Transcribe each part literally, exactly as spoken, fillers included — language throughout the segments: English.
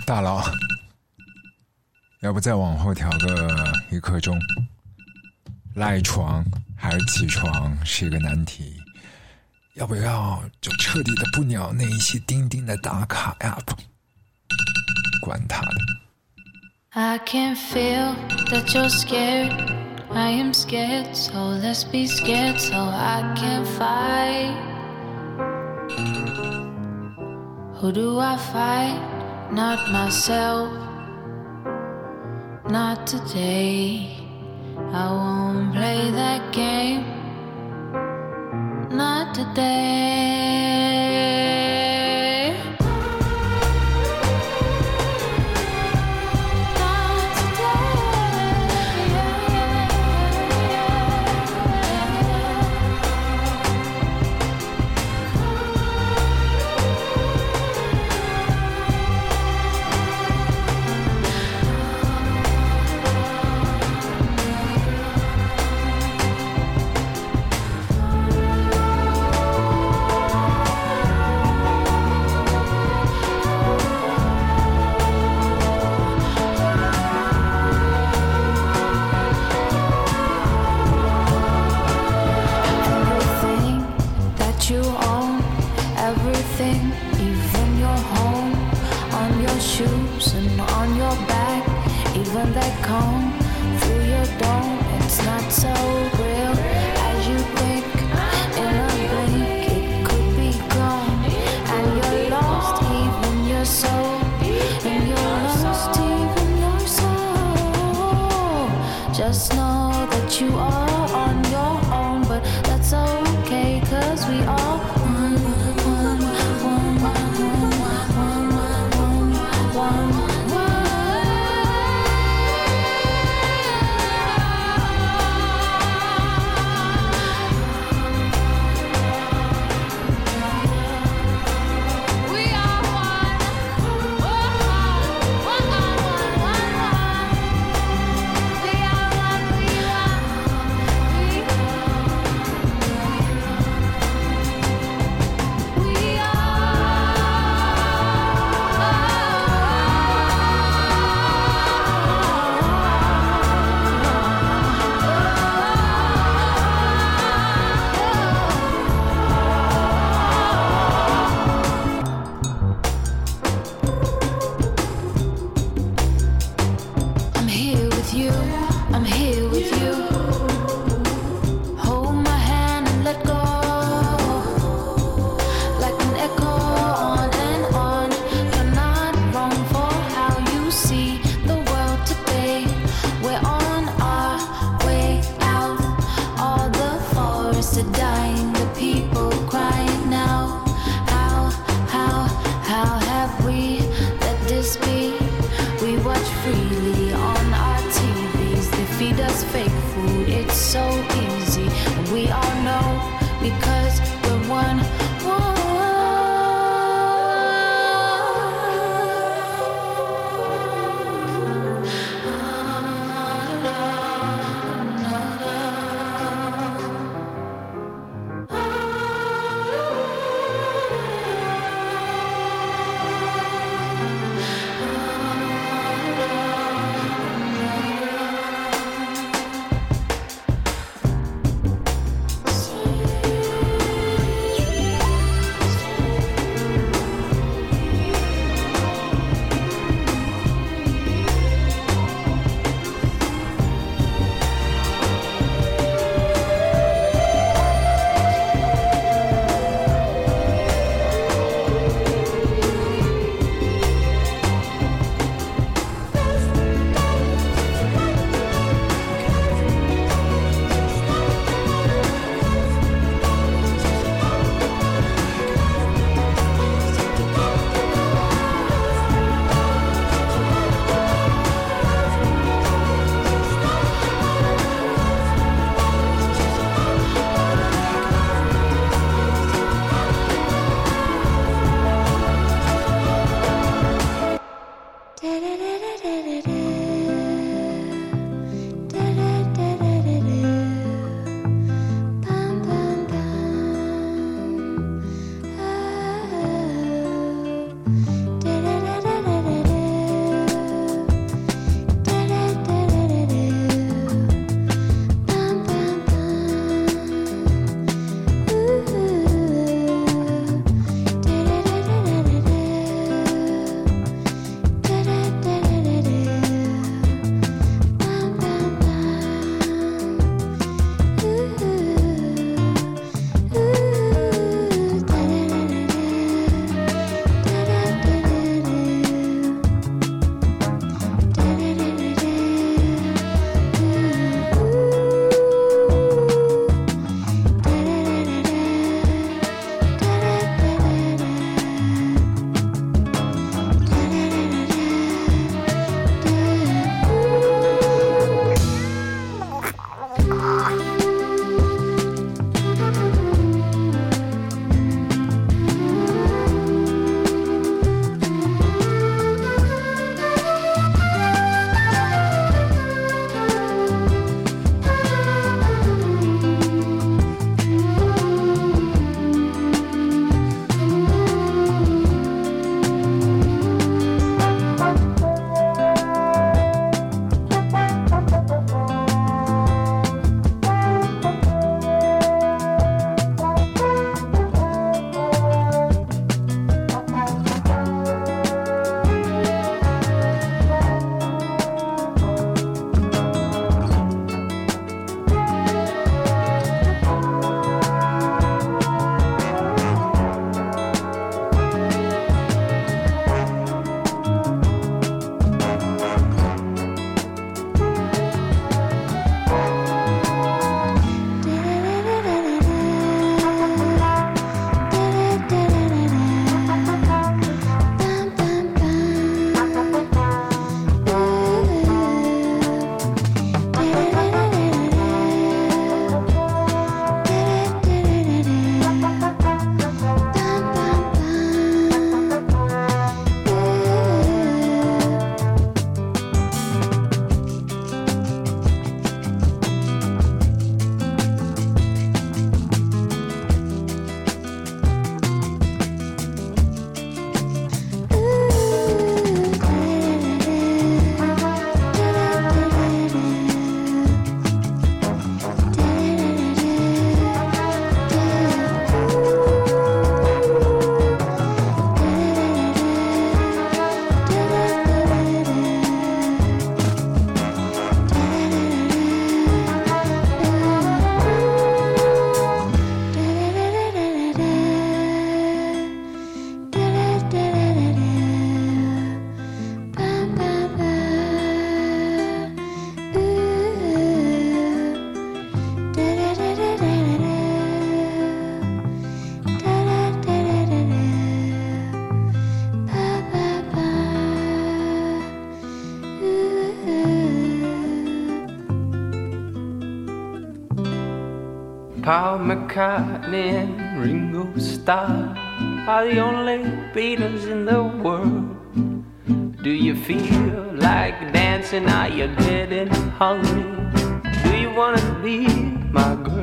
大佬，要不再往后调个一刻钟？赖床还是起床是一个难题，要不要就彻底的不鸟那一些钉钉的打卡 app？ 管他的。 I can feel that you're scared, I am scared, so let's be scared so I can fight. Who do I fight? Not myself, not today. I won't play that game, not today. Shoes and on your back, even that comb through your dome. It's not so real as you think. In a blink, it could be gone, and you're lost, even your soul. And you're lost, even your soul. Just know that you are on your own, but that's okay, 'cause we are one, one, one, one, one, one, one. Paul McCartney and Ringo Starr are the only Beatles in the world. Do you feel like dancing? Are you getting hungry? Do you wanna be my girl?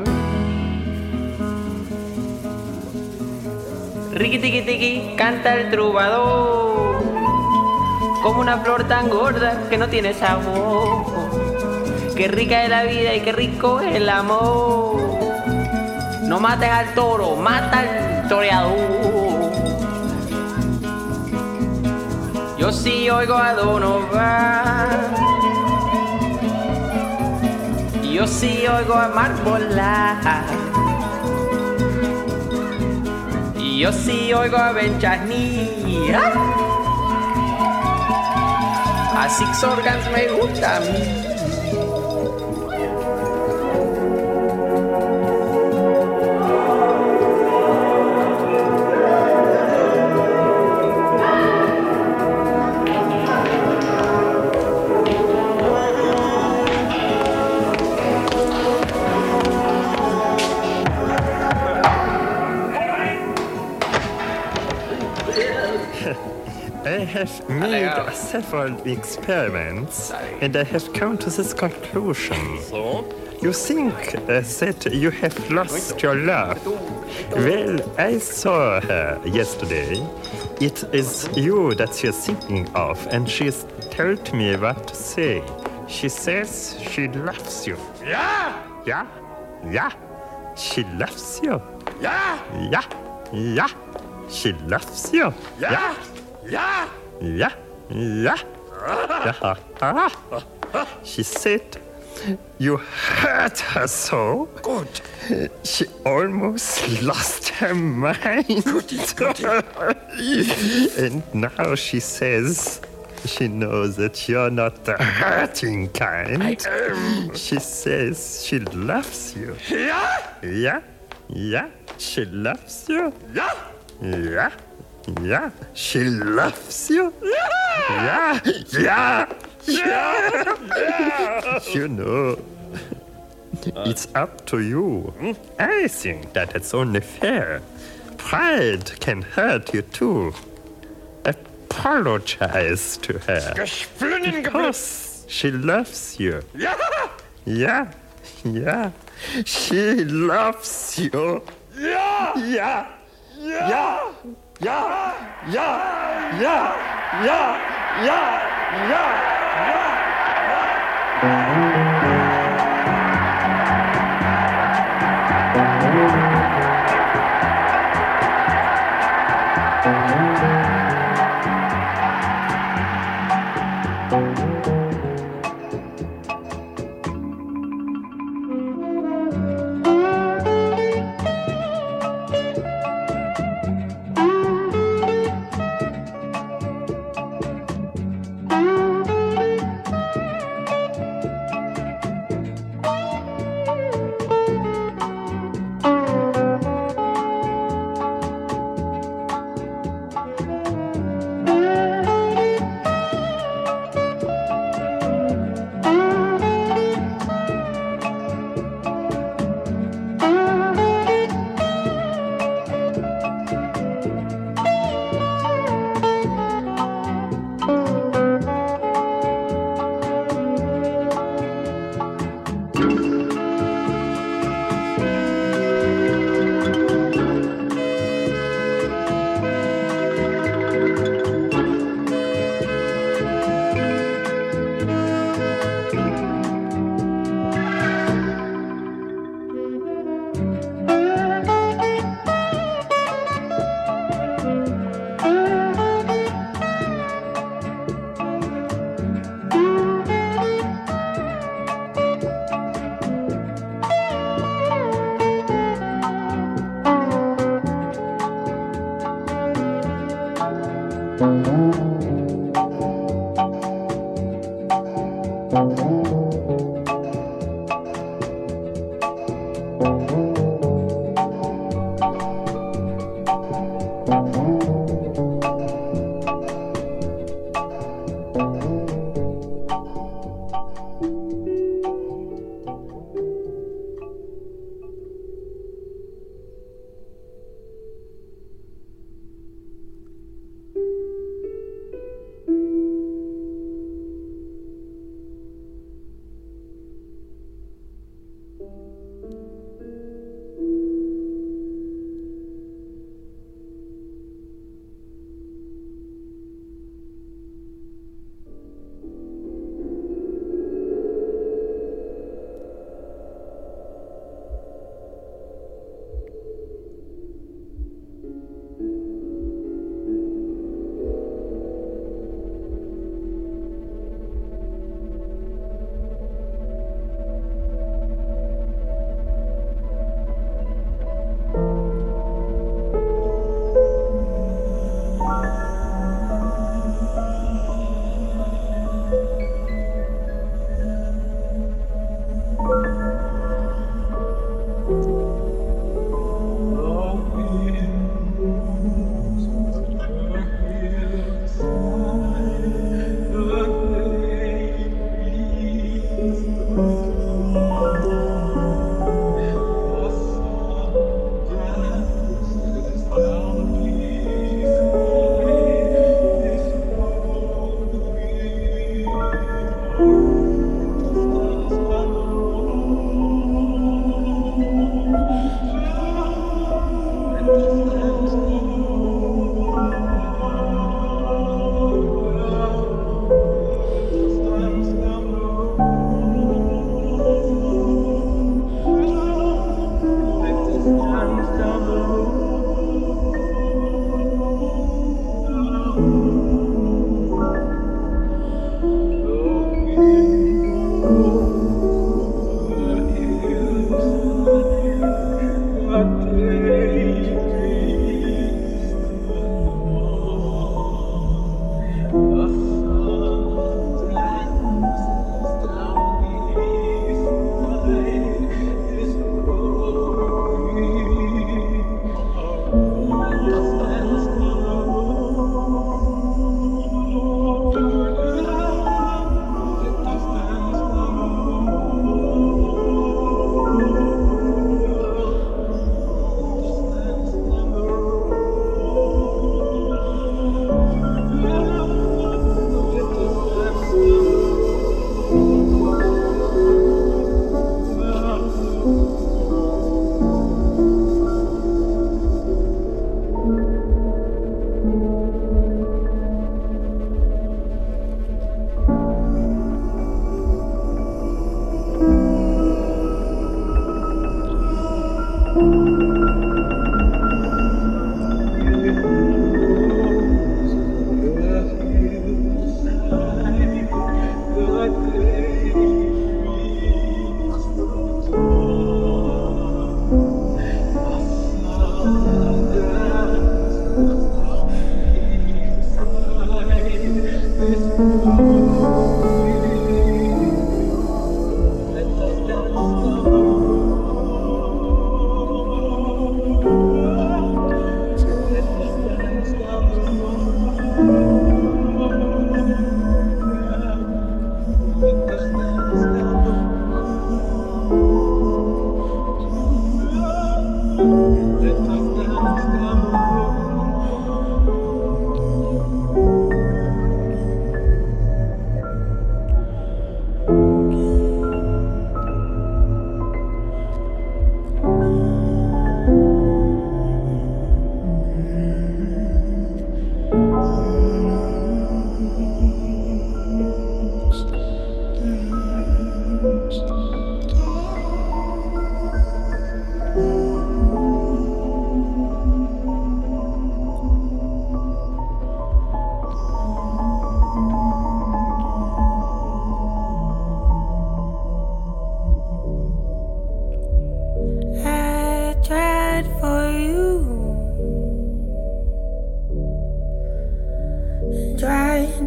Riqui tiqui tiqui, canta el trovador, como una flor tan gorda que no tiene sabor. Qué rica es la vida y qué rico es el amor. No mates al toro, mata al toreador. Yo sí oigo a Donovan, yo sí oigo a Marbola, y yo sí oigo a Ben Chesney. A Six Organs me gusta a mí. I have made several experiments and I have come to this conclusion. You think uh, that you have lost your love. Well, I saw her yesterday. It is you that she is thinking of, and she has told me what to say. She says she loves you. Yeah! Yeah? Yeah? She loves you. Yeah! Yeah? Yeah? She loves you. Yeah! Yeah! Yeah? Yeah? Yeah? She said you hurt her so. Good. She almost lost her mind. And now she says she knows that you're not the hurting kind. I am. She says she loves you. Yeah! Yeah? Yeah? She loves you. Yeah! Yeah? Yeah? She loves you. Yeah! Yeah? Yeah! Yeah! You know, it's up to you. I think that it's only fair. Pride can hurt you too. Apologize to her. Gesplünnen geblitzt. Because she loves you. Ja! Yeah, yeah. She loves you. Ja! Yeah, Ja! yeah, yeah, yeah, yeah, yeah, yeah, yeah.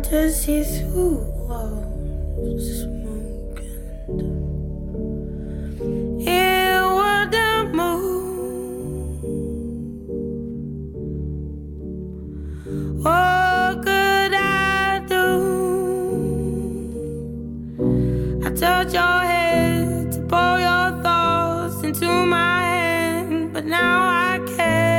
to see through walls smoking. It wouldn't move. What could I do? I touch your head to pour your thoughts into my hand, but now I can't.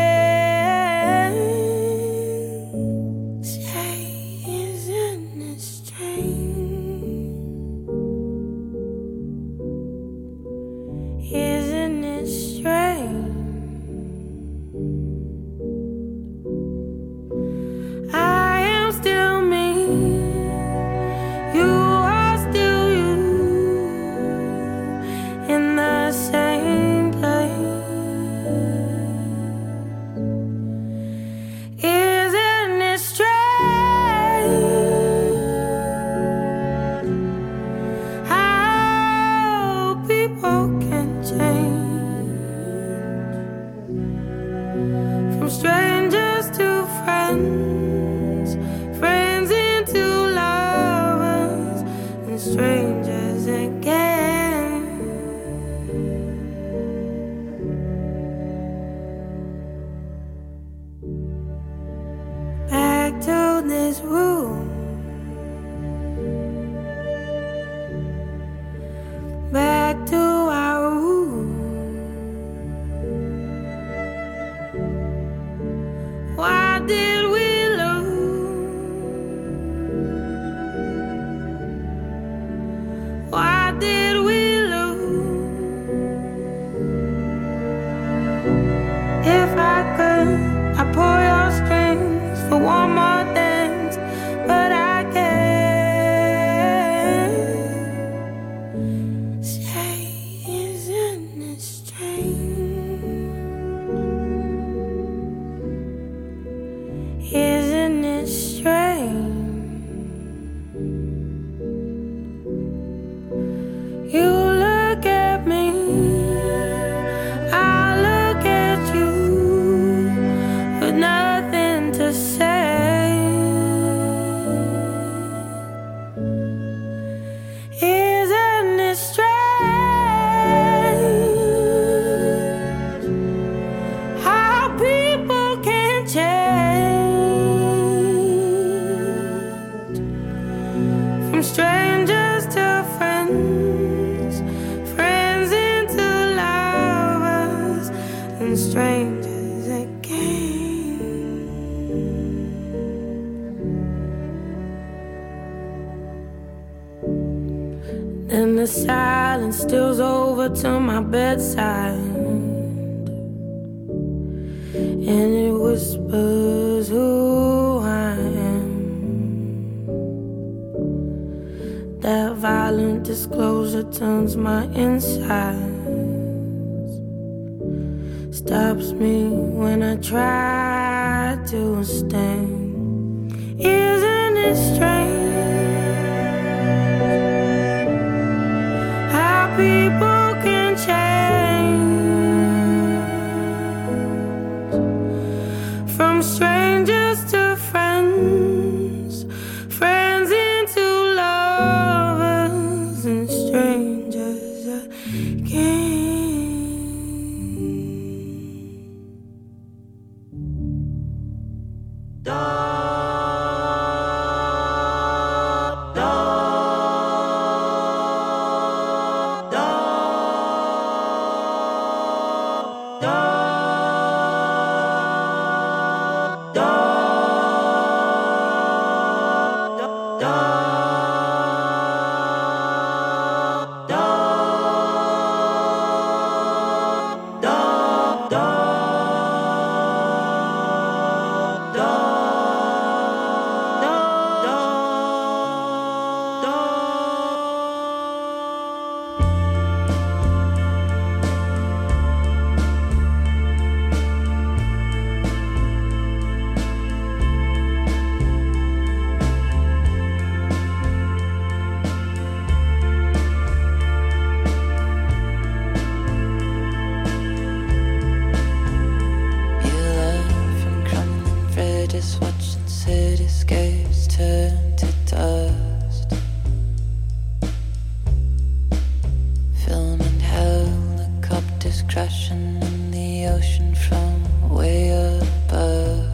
And the silence steals over to my bedside, and it whispers who I am. That violent disclosure turns my insides, stops me when I try to stand. Isn't it strange people can change from strangers to friends, friends into lovers, and strangers again. crashing in the ocean from way above.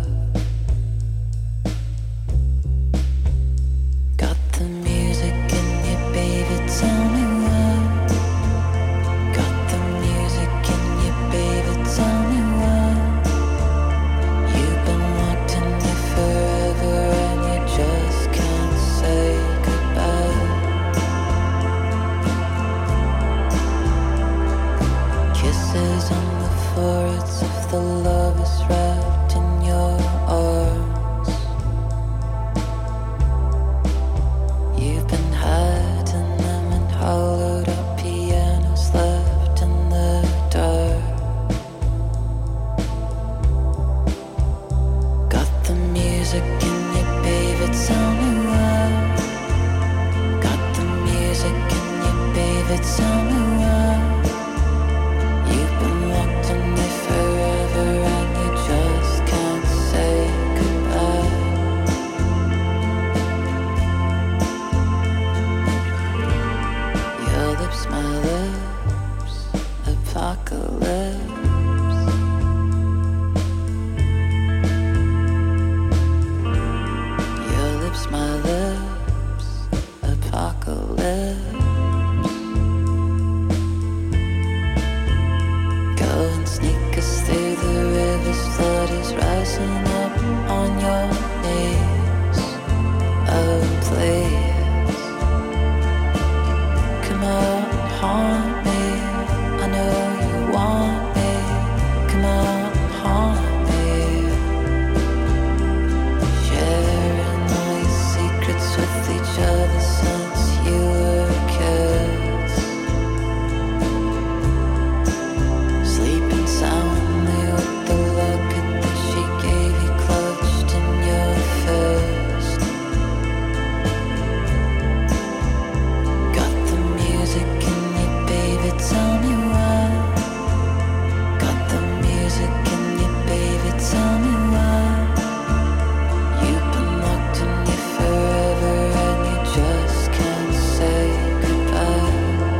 Got the music in you, baby, tell me why. Got the music in you, baby, tell me why. You've been wanting me forever and you just can't say goodbye. Kisses on the foreheads of the lovers wrapped in your arms. You've been hiding them in hollowed out pianos left in the dark. Got the music in you, baby, tell me why. Got the music in you, baby, tell me why. You've been locked in me forever and you just can't say goodbye. Your lips, my lips, apocalypse. Your lips, my lips, apocalypse. Go and sneak us through the river's flood is rising up on your knees. Oh, please, come out and haunt me. I know you want me. Come out and haunt me. Sharing all your secrets with each other since you were kids. Sleeping soundly with the locket that she gave you clutched in your fist. Got the music in you, baby, tell me why. Got the music in you, baby, tell me why. You've been locked in you forever and you just can't say goodbye.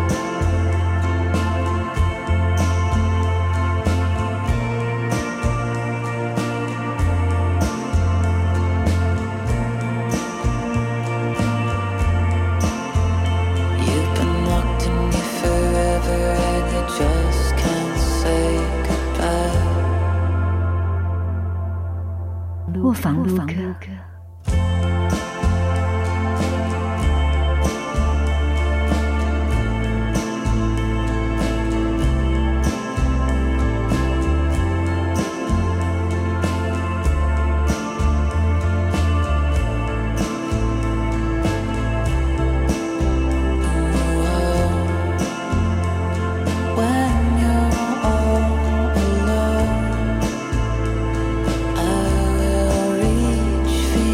You've been locked in you forever and you just can't say goodbye. 卧房录歌。 When you're all alone, I will reach for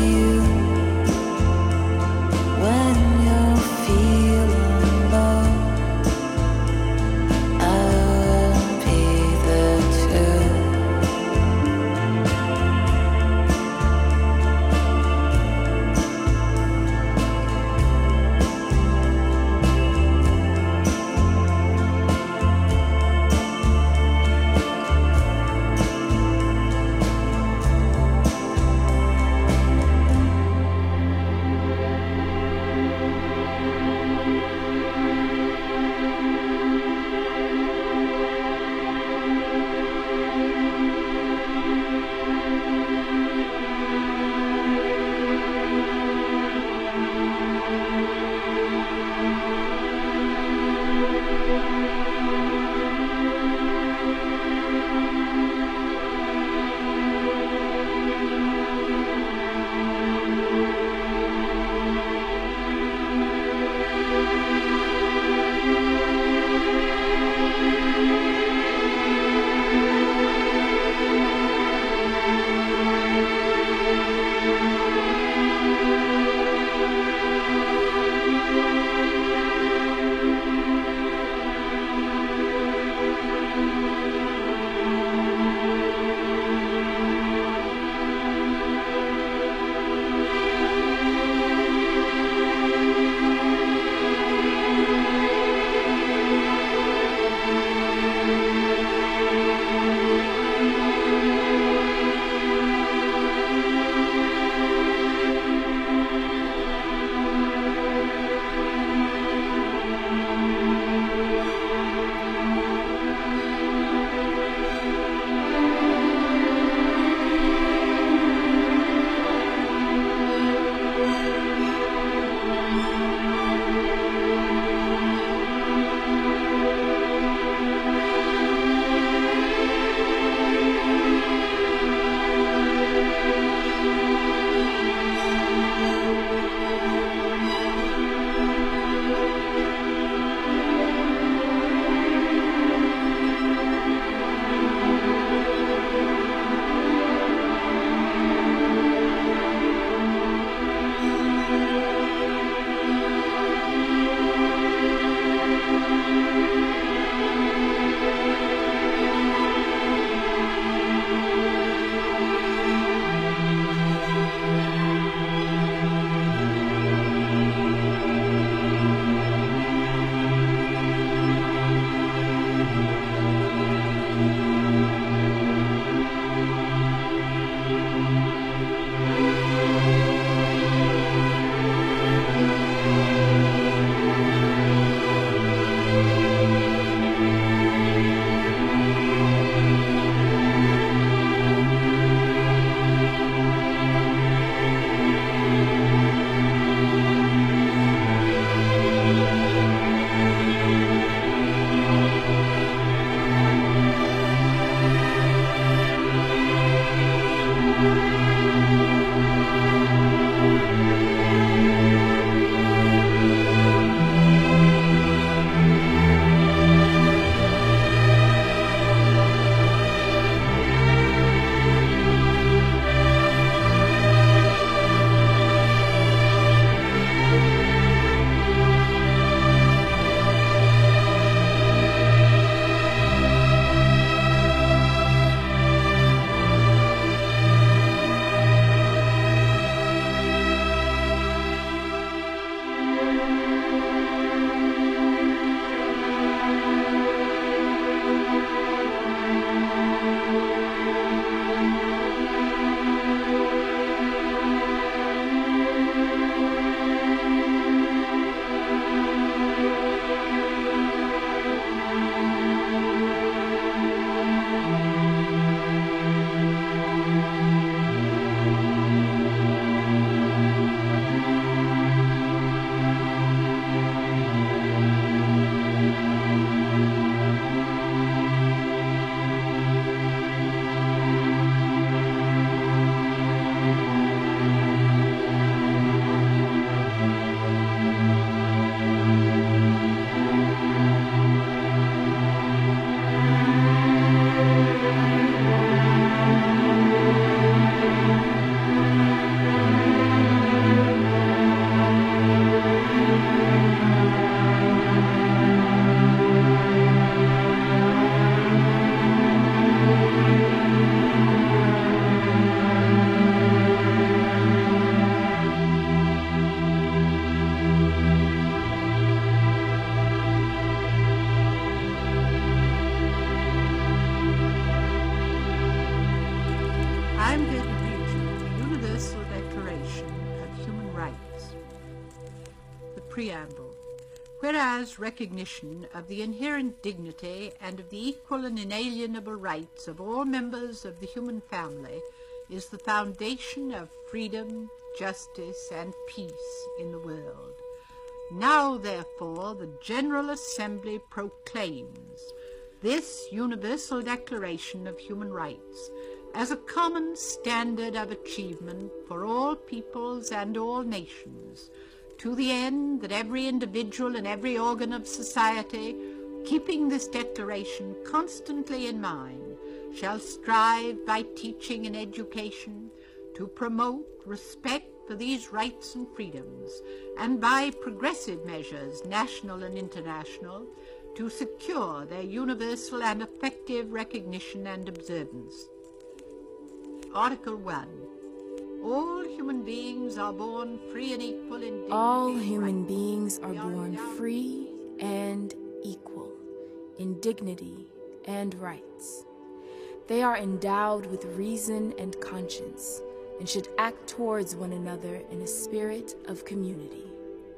Preamble. Whereas recognition of the inherent dignity and of the equal and inalienable rights of all members of the human family is the foundation of freedom, justice, and peace in the world. Now, therefore, the General Assembly proclaims this Universal Declaration of Human Rights as a common standard of achievement for all peoples and all nations, to the end that every individual and every organ of society, keeping this declaration constantly in mind, shall strive by teaching and education to promote respect for these rights and freedoms, and by progressive measures, national and international, to secure their universal and effective recognition and observance. Article one. All human beings are born free and equal in dignity. All human beings are born free and equal in dignity and rights. They are endowed with reason and conscience and should act towards one another in a spirit of community.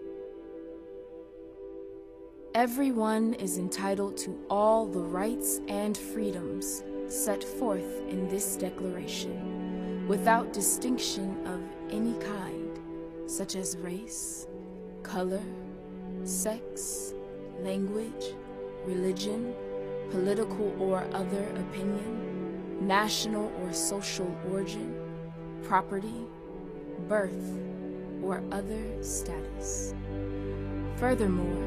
Everyone is entitled to all the rights and freedoms set forth in this declaration, without distinction of any kind, such as race, color, sex, language, religion, political or other opinion, national or social origin, property, birth, or other status. Furthermore,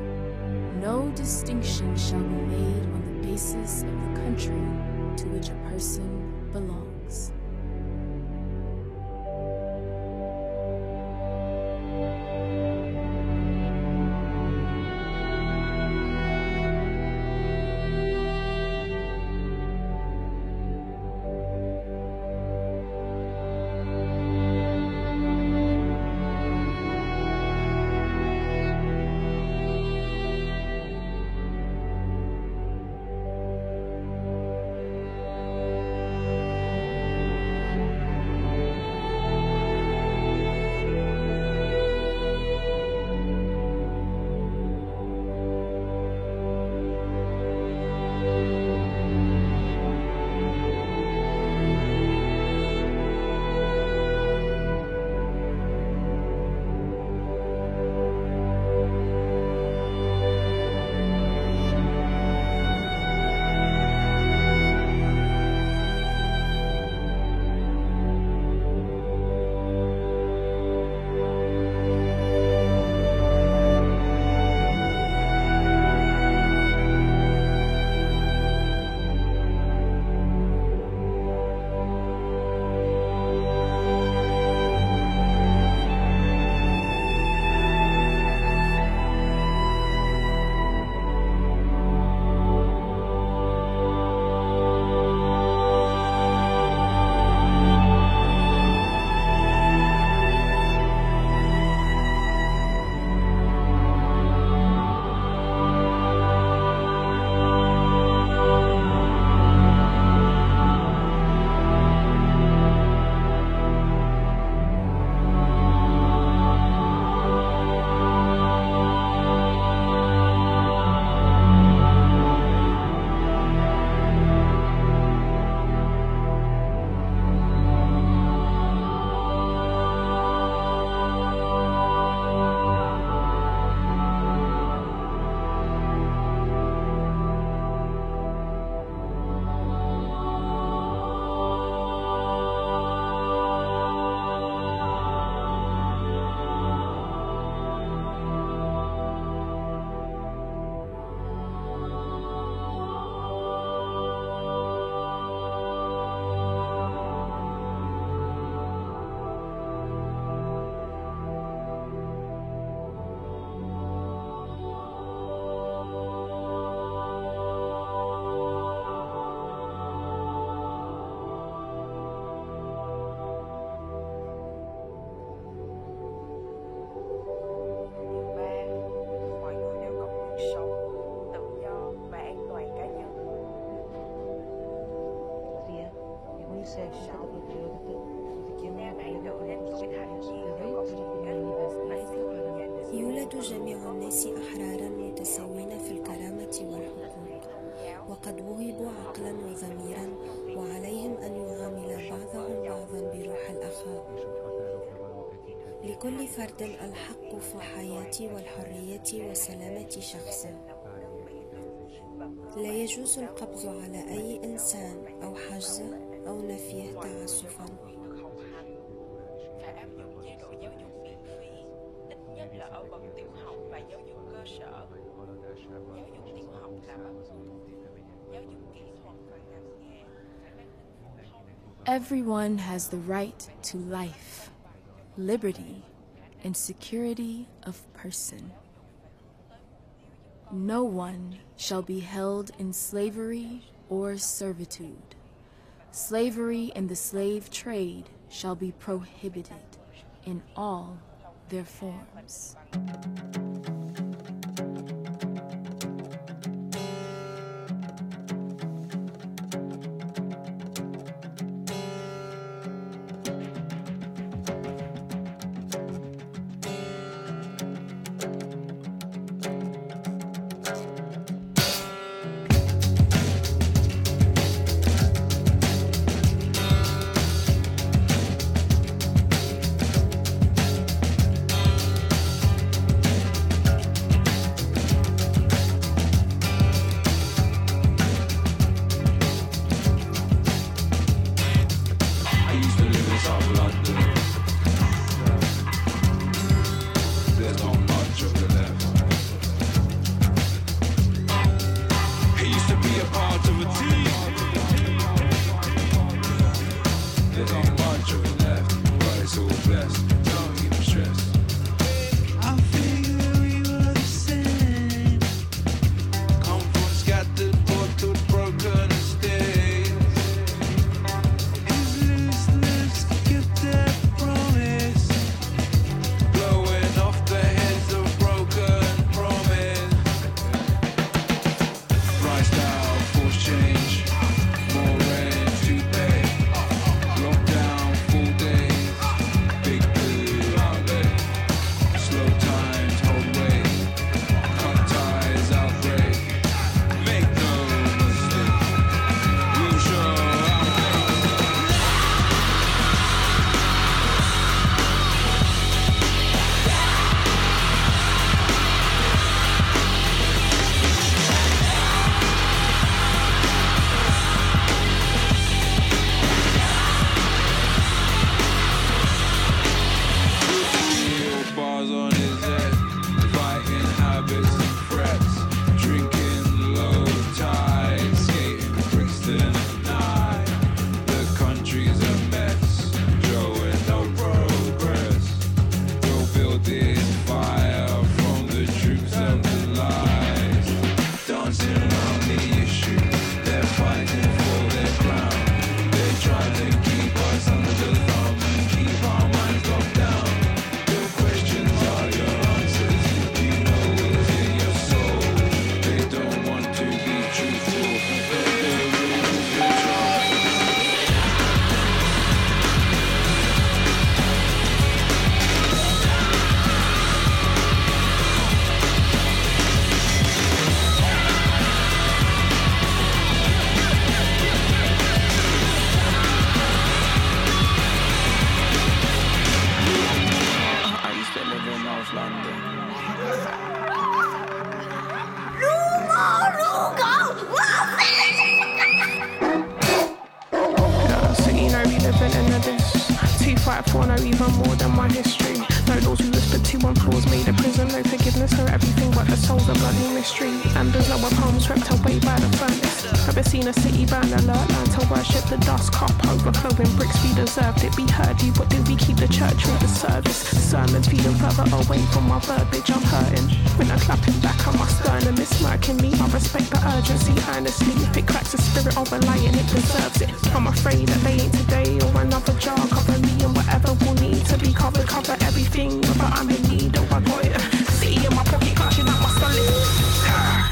no distinction shall be made on the basis of the country to which a person belongs. Đem ảnh hưởng đến tuổi thành niên đều có sự kết nối và sự hiện diện يولد جميع الناس أحرارا متساوين في الكرامة والحقوق، وقد وهبوا عقلا وضميرا، وعليهم أن يعامل بعضهم بعضا بروح الأخاء. لكل فرد الحق في الحياة والحرية وسلامة شخصه. لا يجوز القبض على أي إنسان أو حجزه أو نفيه تعسفا. Everyone has the right to life, liberty, and security of person. No one shall be held in slavery or servitude. Slavery and the slave trade shall be prohibited in all their forms. For no even more than my history. No laws we whispered to on floors made a prison. No forgiveness for everything but the soul's a bloody mystery. And there's lower palms swept away by the furnace. Never seen a city burn alert. Learn to worship the dust cup overflowing bricks. We deserved it. We heard you, but did we keep the church with the service? Sermons feeling further away from my verbiage. I'm hurting. When I'm clapping back on my sternum, it's smirking me. I respect the urgency earnestly. If it cracks the spirit of a lion, it deserves it. I'm afraid that they ain't today or another jar. Cover me and whatever will need to be covered. Cover everything, but I'm in need of a toilet. See in my pocket, clashing out my solid.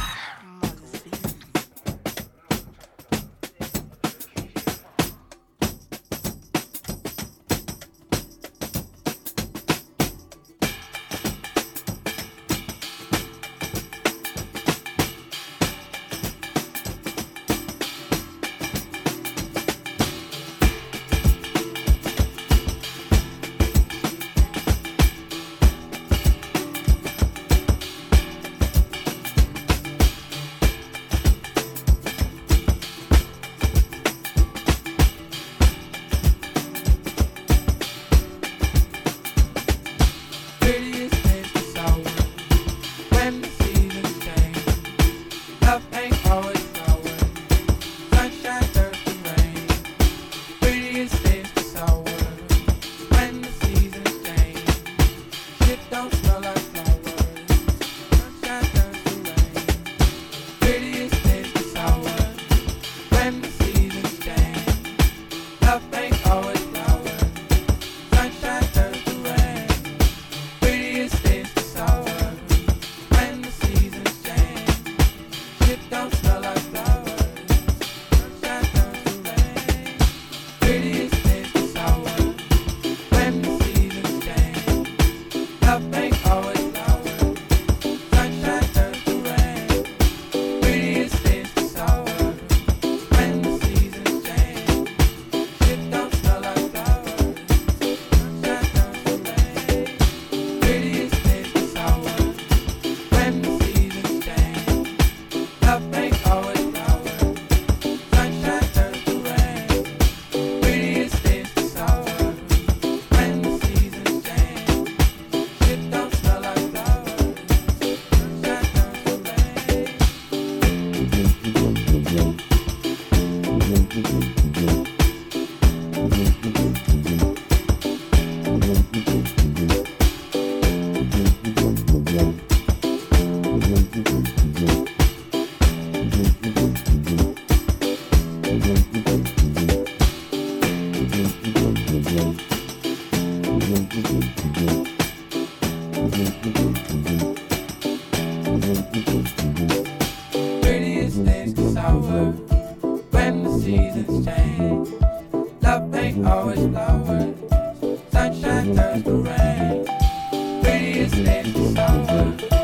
Prettiest days get sour when the seasons change. Love ain't always flowers, sunshine turns to rain. Prettiest days get sour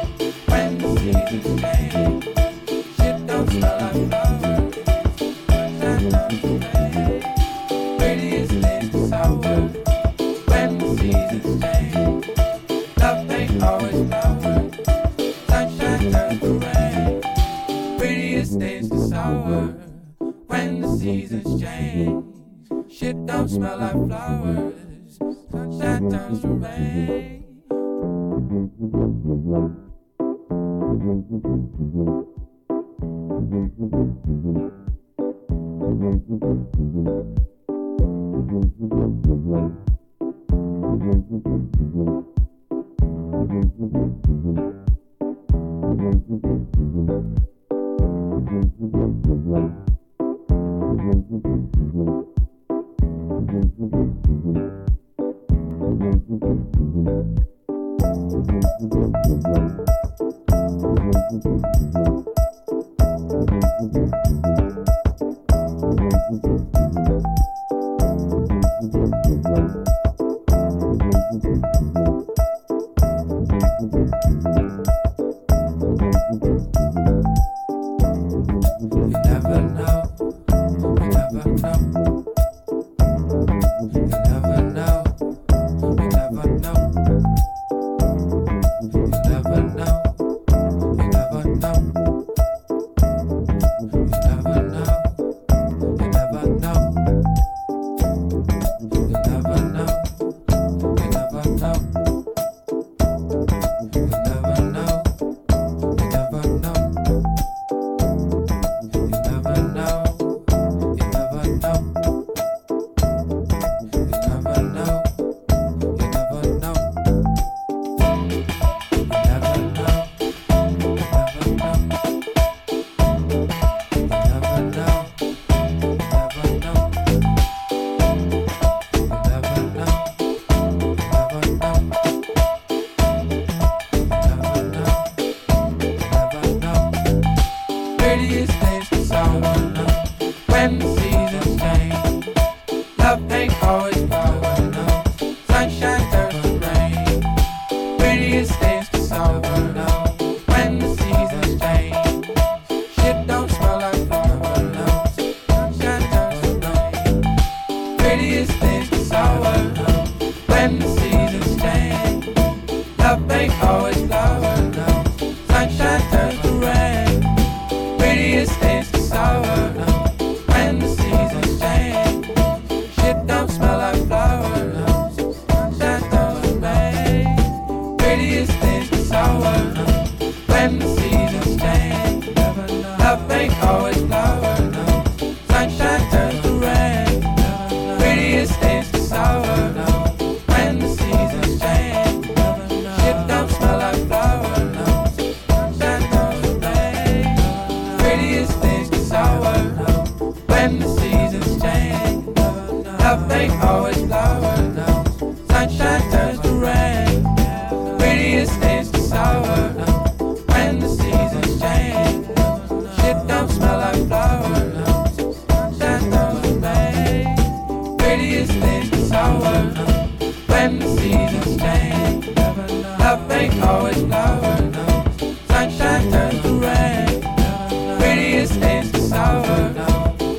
when the seasons change. Shit don't smell like flowers, sunshine turns to rain. Prettiest days get sour when the seasons change. Love ain't always flowers, sunshine turns to rain. Prettiest days get sour when the seasons change. Shit don't smell like flowers, sunshine turns to rain.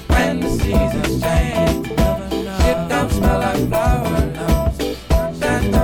When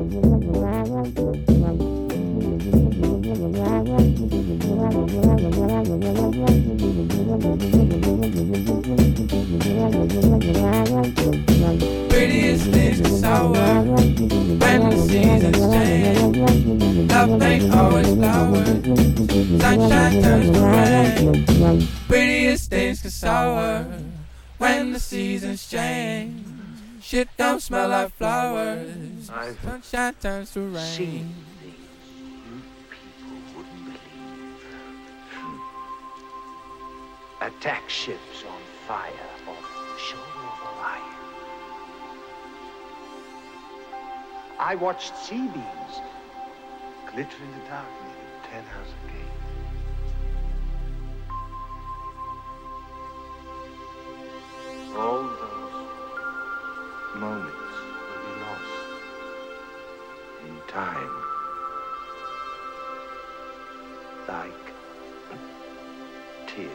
Prettiest things are sour when the seasons change. Love ain't always flowers. Sunshine turns to rain. Prettiest things get sour when the seasons change. Shit don't smell like flowers. Sunshine turns to rain. Attack ships on fire off the shoulder of Orion. I watched sea beams glitter in the dark near the Tannhauser Gate. All those moments will be lost in time, like tears.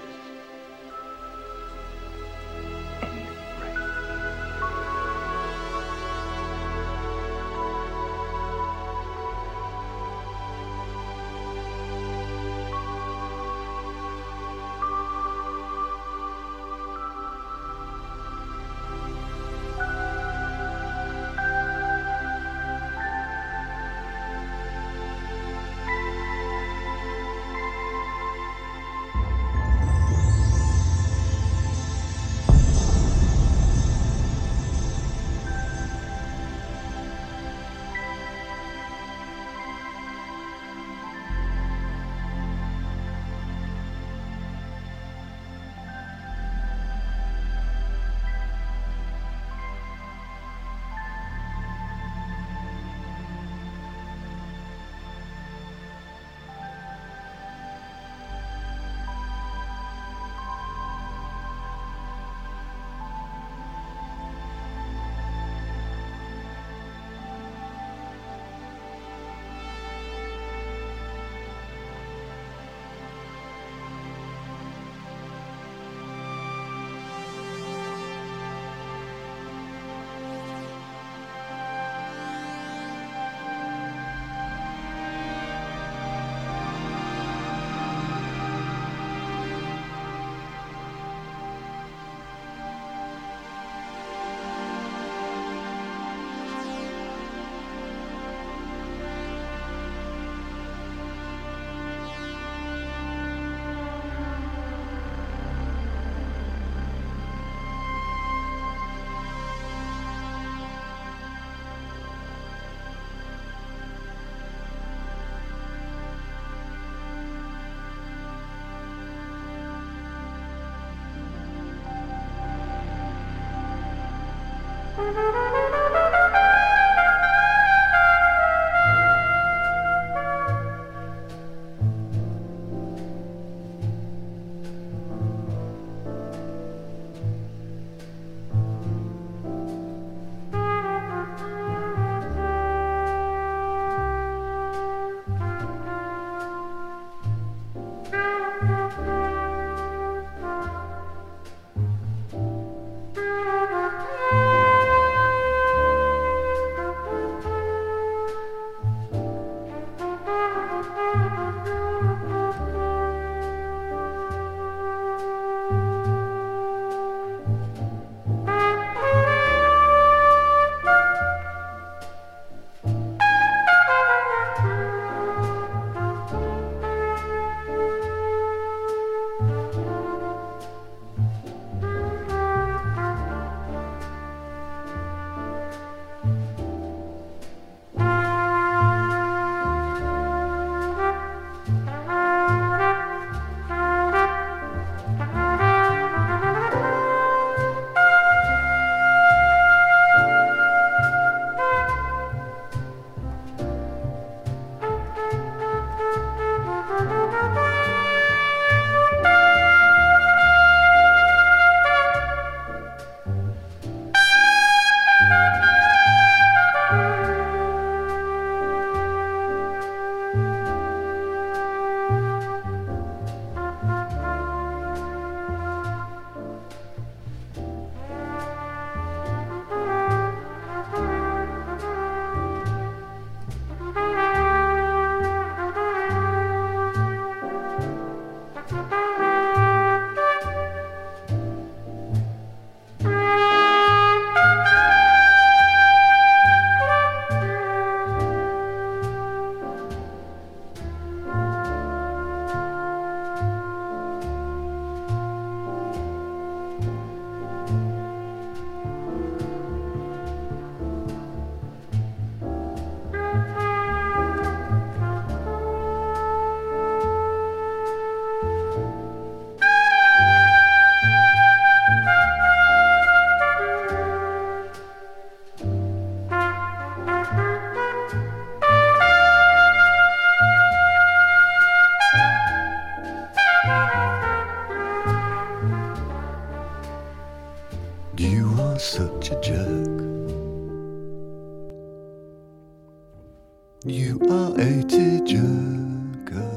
You are a tearjerker.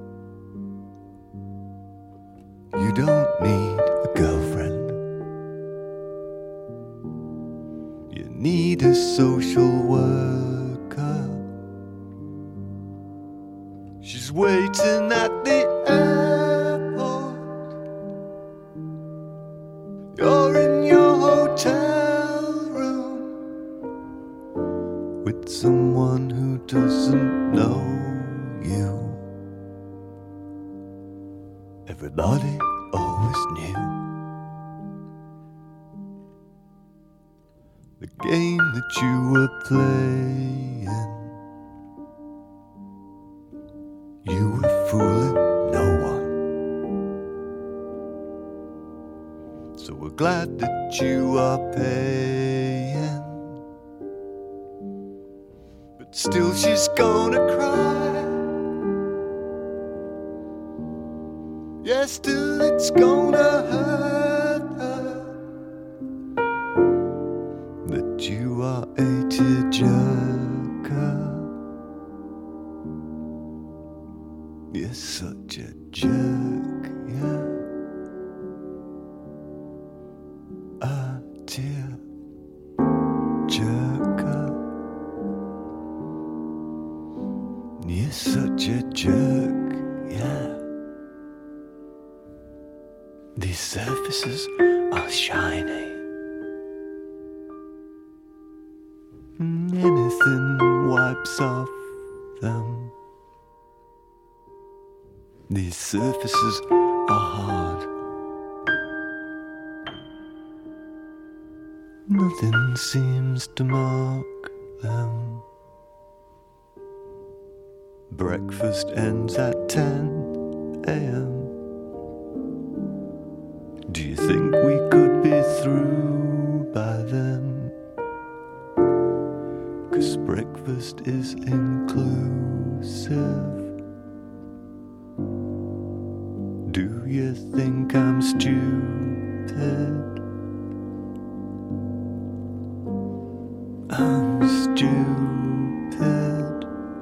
You don't need a girlfriend. You need a social worker. She's waiting at the airport. You're in your hotel room with someone who doesn't know you. Everybody always knew the game that you were playing. You were fooling no one. So we're glad that you are paying. But still she's gonna cry. Yeah, still it's gonna hurt her that you are a tearjerker. You're such a jerk, yeah. A tearjerker. You're such a jerk, yeah. These surfaces are shiny. Anything wipes off them. These surfaces are hard. Nothing seems to mark them. Breakfast ends at ten a.m. Do you think we could be through by then? 'Cause breakfast is inclusive. Do you think I'm stupid? I'm stupid.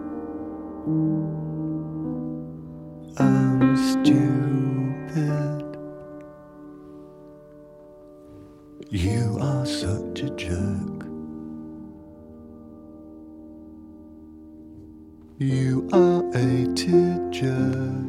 I'm stupid. You are such a jerk. You are a tearjerker.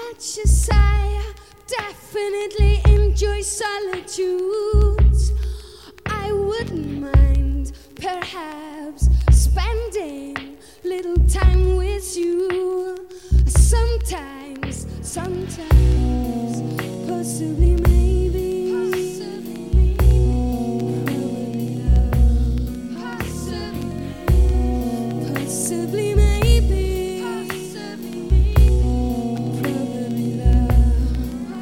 much as I definitely enjoy solitude, I wouldn't mind perhaps spending little time with you. Sometimes, sometimes, possibly maybe. Possibly maybe, probably love.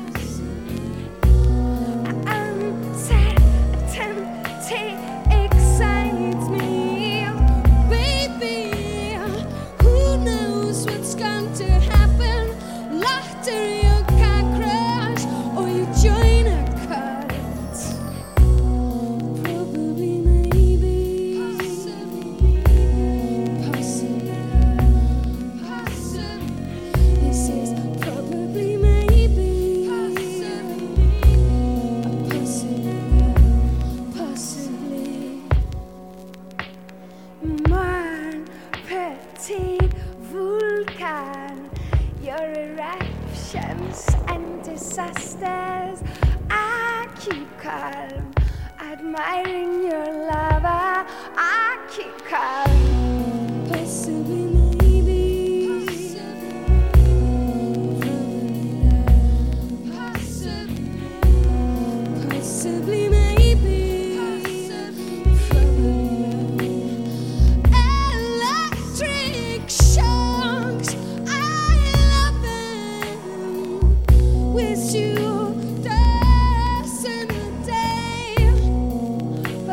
Uncertainty excites me, baby. Who knows what's going to happen? Lottery or car crash, or you join a cult. Probably maybe. This is probably maybe possibly, possibly. Mon petit vulcan, your eruptions and disasters, I keep calm, admiring your lava. I keep calm. Possibly maybe. Possibly maybe. Electric shocks, I love them. With you, there's in a day.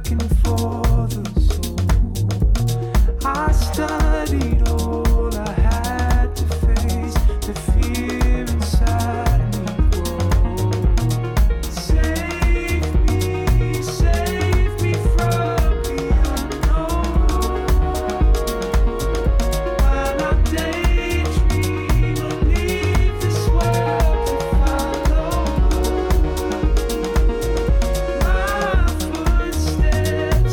looking for the soul. I studied all I had to face, the fear inside me grow. Save me, save me from the unknown. While I daydream or leave this world to follow. My footsteps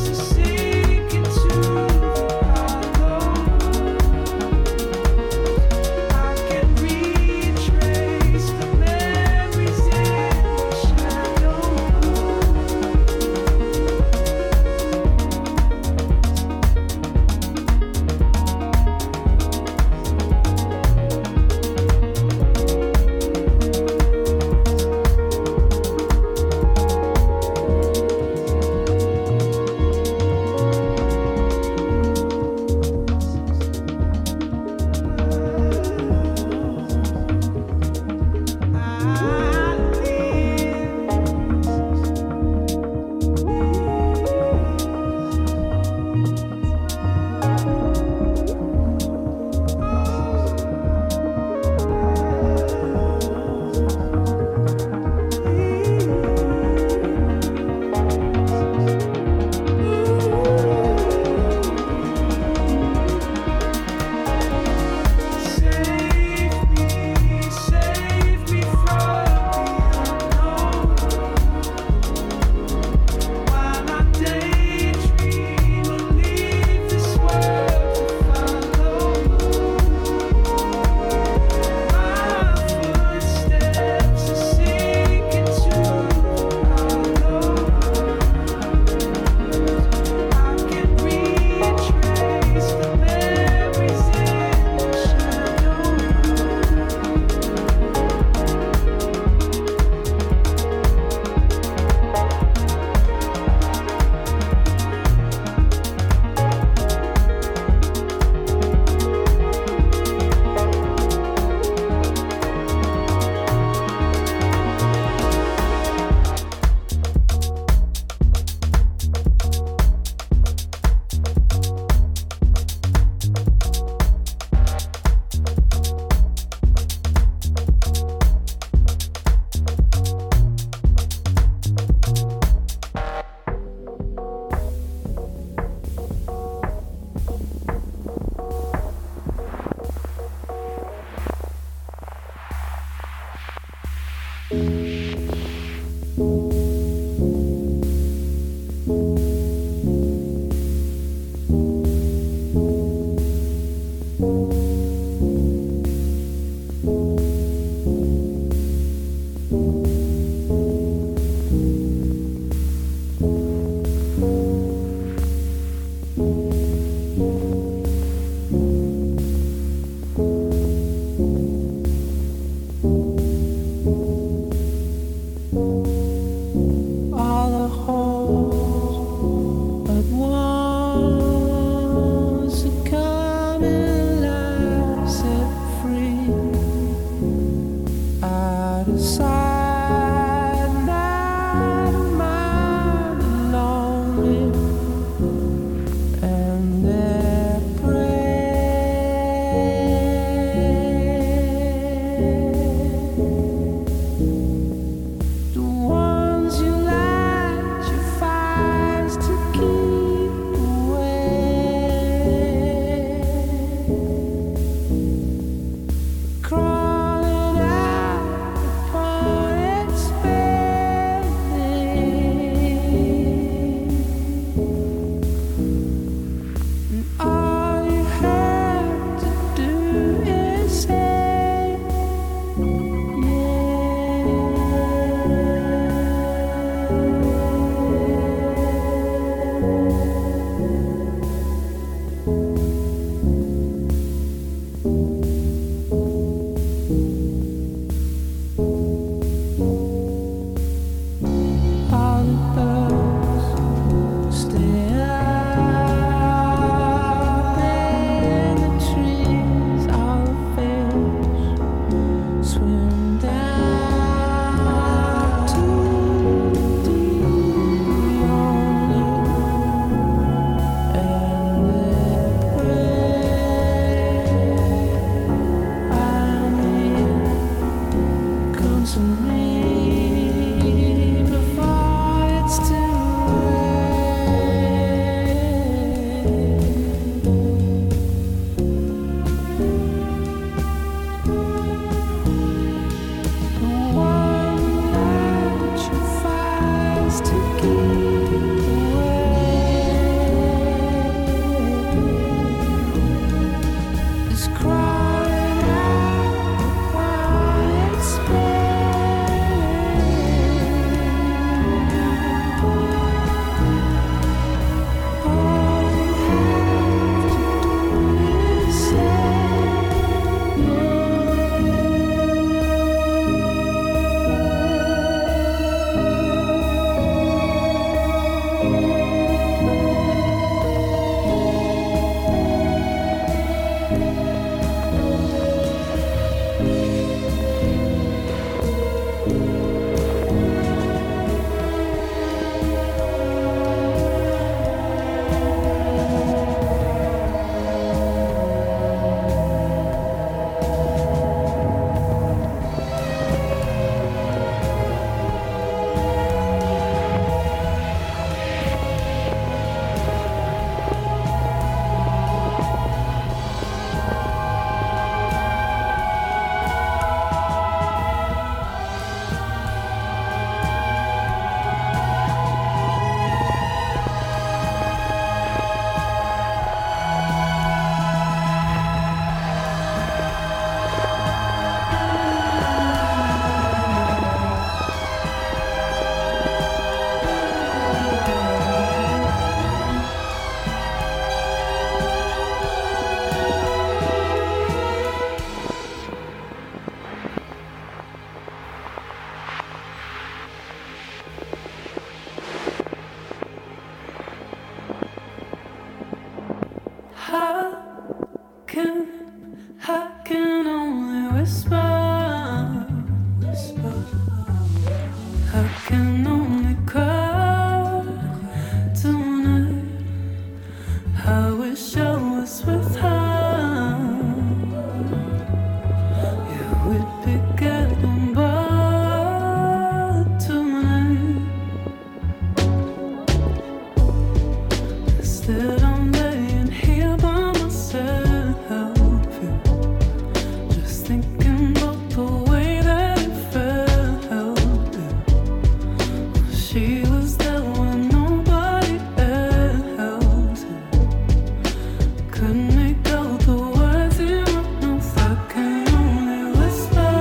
Instead I'm laying here by myself, yeah. Just thinking about the way that it felt, yeah. She was there when nobody else, yeah. Couldn't make out the words in my mouth, I can only whisper.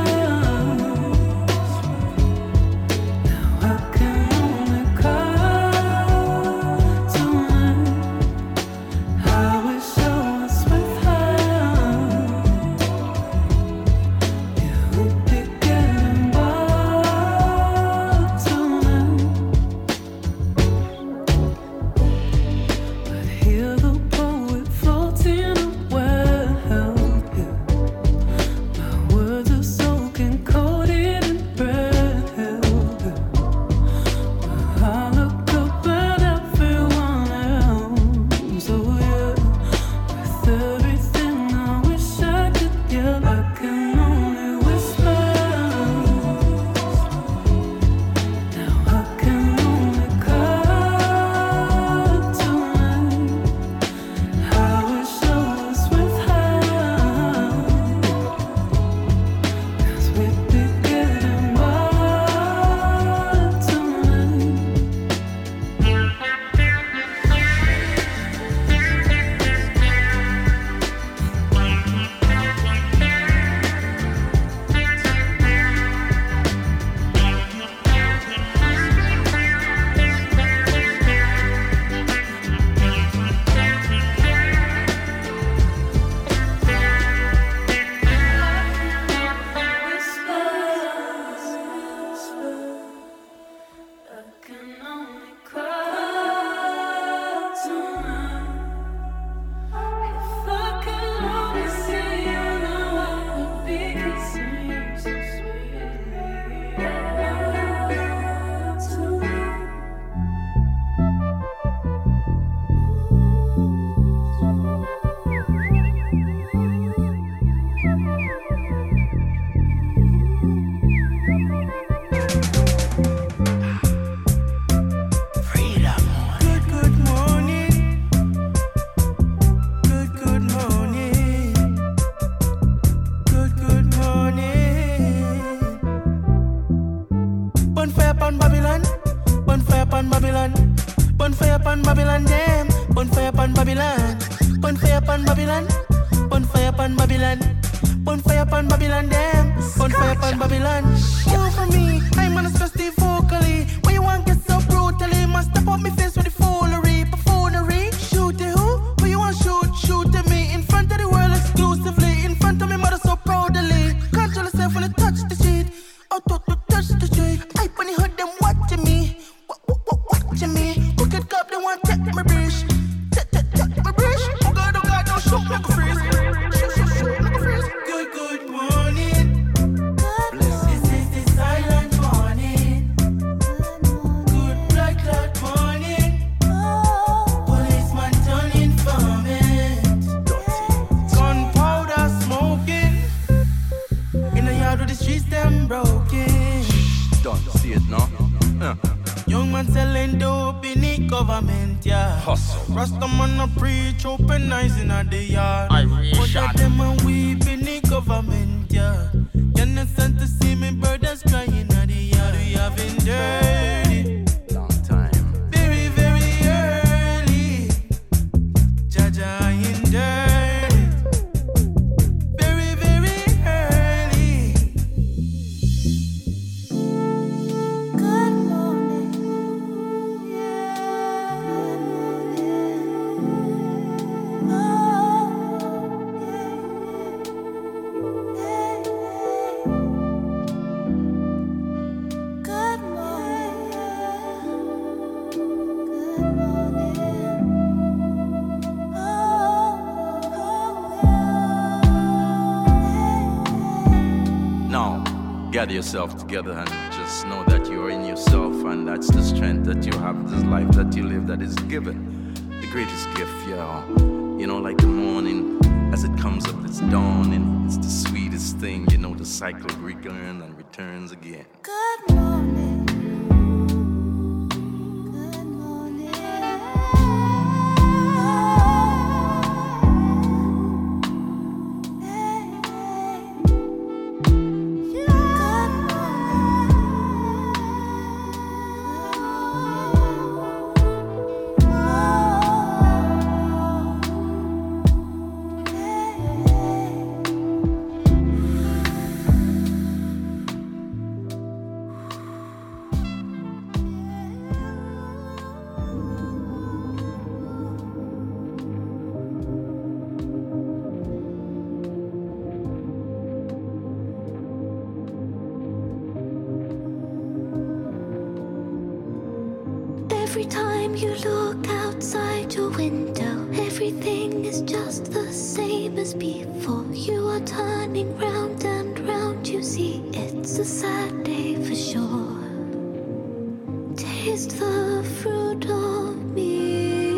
Now I can only cry tonight. I wish I was with her. Yeah, we'd be getting by tonight. But hear the poet floating away, yeah. My words are soaking, coated in bread, yeah. I look up at everyone else, oh yeah. With everything I wish I could yell, I can only whisper. Now I can only cry tonight. I wish I was with her, 'cause we'd be getting by tonight. I can only cry tonight. If I could only see you now, I would be kissing so sweetly tonight. Good, good morning. Good, good morning. Good, good morning. Bonfire upon Babylon. Bonfire upon Babylon. Bonfire upon Babylon, damn. Bonfire upon Babylon. Bonfire upon Babylon. Bonfire upon Babylon. Bonfire upon Babylon, damn. Bonfire upon Babylon. You for me, I'm on a thirsty vocally. Why you want get so brutally? Must step up me face with the foolery, buffoonery. Shoot it who? Who you want shoot? Shoot at me in front of the world exclusively. In front of me mother so proudly. Control yourself when you touch the shit. Out to to touch the street. I when you heard them watching me. Wa- wa- wa- Watching me. Crooked cop they want check my bridge. Check check check my bridge. Oh God, oh God, don't shoot like a freeze. Shoot shoot shoot like a freeze. Good good morning. This is the silent morning. Good blood clot morning. Policeman turning informant. Gunpowder smoking. In the yard with the streets them broken. Don't see it now. Uh. Young man selling dope in the government, yeah. Hustle. Rastaman a preach, open eyes in the yard. Iration. But that them a weep in the government, yeah. You're not sent to see me brothers crying at the yard. We have been dirty. Long time. Very, very early. Jaja in dirty. Very, very early. Good morning. Now, gather yourself together and just know that you are in yourself, and that's the strength that you have, this life that you live that is given. The greatest gift, yeah. You know, like the morning, as it comes up, it's dawning. It's the sweetest thing, you know, the cycle returns and returns again. Good morning. days before you are turning round and round. You see, it's a sad day for sure. Taste the fruit of me.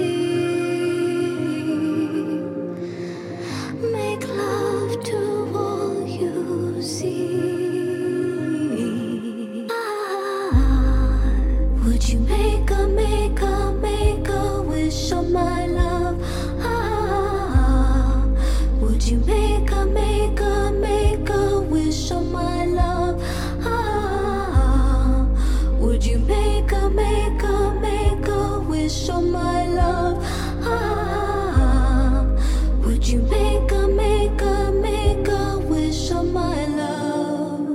Make love to all you see. Ah, would you make a, make a, make a wish on my love? Ah, would you make a, make a, make a wish on my love? Ah, would you make a, make a, make a wish on my love? Ah, would you make a, make a, make a wish on my love?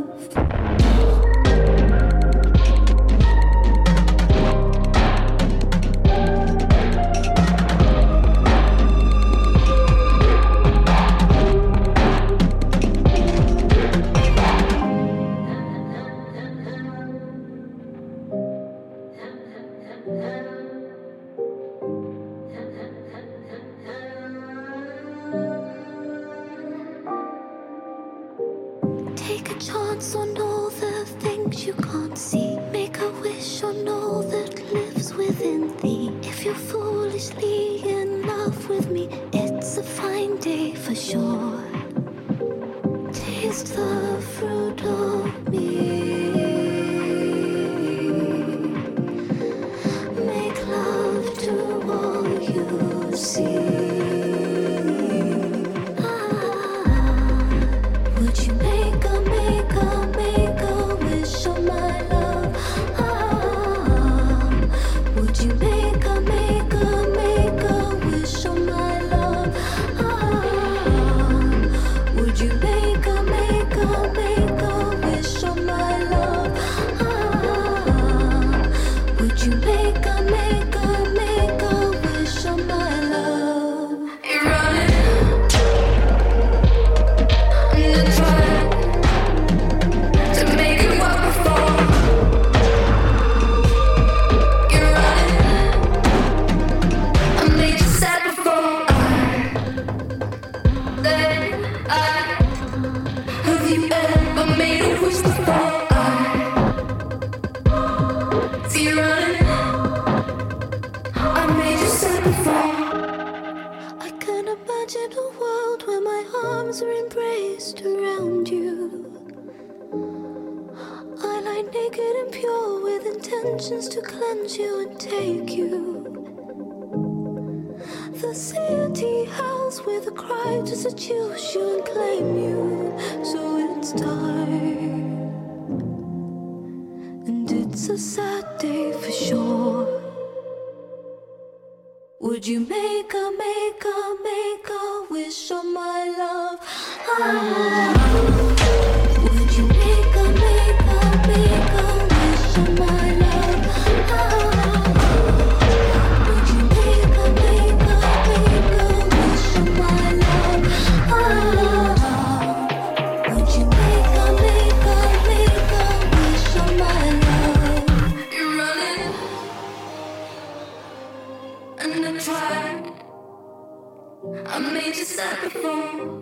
Take a chance on all the things you can't see. Make a wish on all that lives within thee. If you're foolishly in love with me, it's a fine day for sure. Taste the fruit of me. Make love to all you see. Would you make a, make a, make a wish on my love? Ah, would you make a, make a, make a wish on my love? Ah, would you make a, make a, make a wish on my love? Ah, would you make a, make a, make a wish on my love? You're running. I can imagine a world where my arms are embraced around you. I lie naked and pure with intentions to cleanse you and take you. The city howls with a cry to seduce you and claim you. So it's time, and it's a sad day for sure. Would you make a, make a, make a wish on my love? Ah, would you make a, make a, make a wish on my love? Ah, would you make a, make a, make a wish on my love? Ah, would you make a, make a, make a wish on my love? You're running. And I tried. I made you sad before.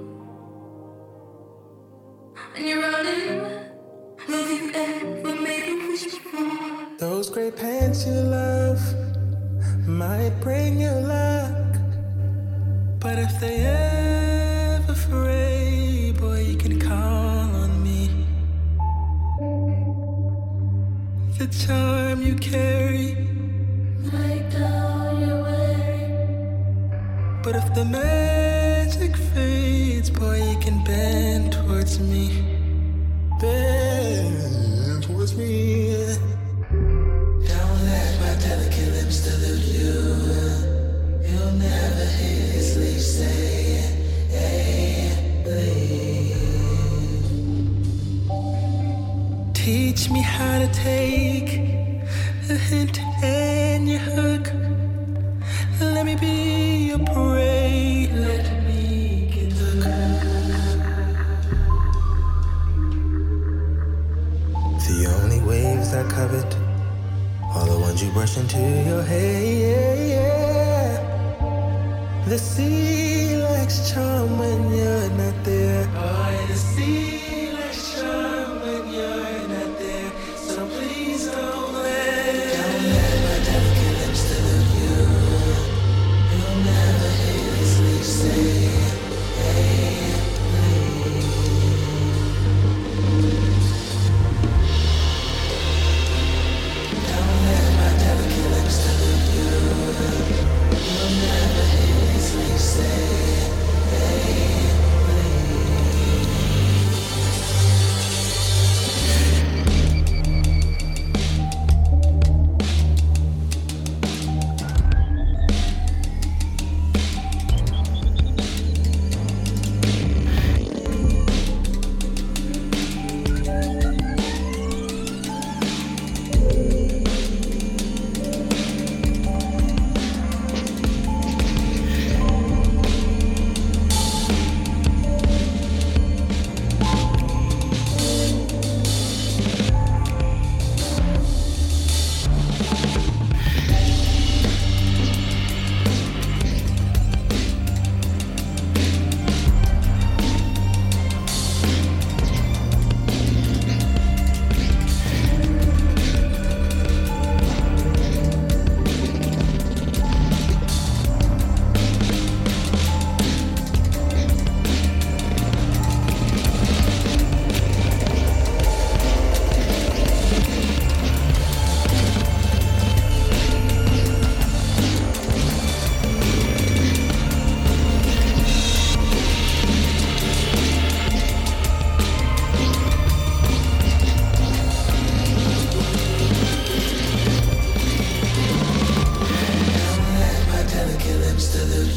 And you're running. Love you ever made a wish before. Those great pants you love might bring you luck, but if they ever fray, boy, you can call on me. The charm you carry Like all you're wearing. But if the magic fades, boy, you can bend towards me. Bend towards me. Don't let my delicate lips delude you. You'll never hear his lips say, hey, please. Teach me how to take a hint and your hook. Let me be your prey. Let me get the The only waves I covet are the ones you brush into your hair. The sea likes charm when you're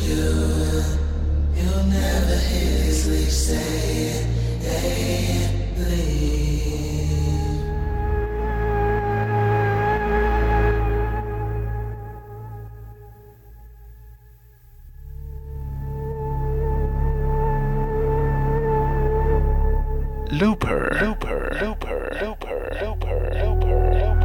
Looper, Looper, Looper, Looper, Looper, Looper.